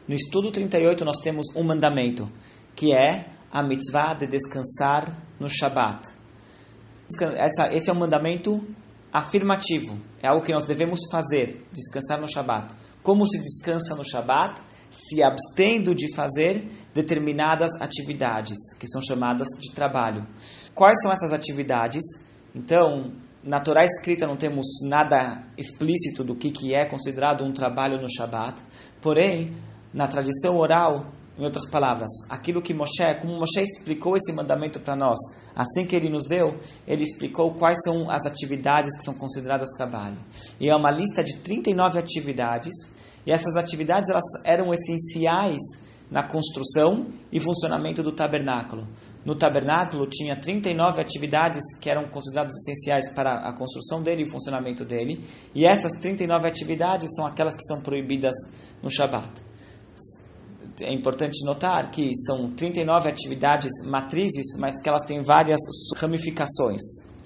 No estudo 38 nós temos um mandamento, que é a mitzvah de descansar no Shabat. Esse é um mandamento afirmativo, é algo que nós devemos fazer, descansar no Shabat. Como se descansa no Shabat? Se abstendo de fazer determinadas atividades, que são chamadas de trabalho. Quais são essas atividades? Então, na Torá escrita não temos nada explícito do que é considerado um trabalho no Shabat, porém, na tradição oral, em outras palavras, aquilo que como Moshe explicou esse mandamento para nós, assim que ele nos deu, ele explicou quais são as atividades que são consideradas trabalho. E é uma lista de 39 atividades, e essas atividades elas eram essenciais na construção e funcionamento do tabernáculo. No tabernáculo tinha 39 atividades que eram consideradas essenciais para a construção dele e o funcionamento dele, e essas 39 atividades são aquelas que são proibidas no Shabat. É importante notar que são 39 atividades matrizes, mas que elas têm várias ramificações.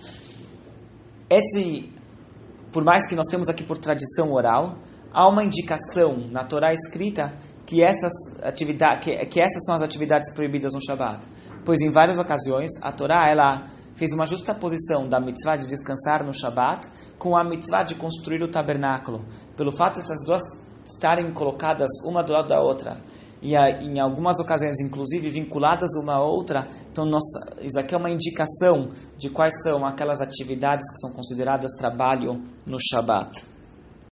Por mais que nós temos aqui por tradição oral, há uma indicação na Torá escrita que essas são as atividades proibidas no Shabat. Pois em várias ocasiões a Torá ela fez uma justaposição da mitzvah de descansar no Shabat com a mitzvah de construir o tabernáculo. Pelo fato dessas duas estarem colocadas uma do lado da outra, e em algumas ocasiões, inclusive, vinculadas uma à outra, então isso aqui é uma indicação de quais são aquelas atividades que são consideradas trabalho no Shabat.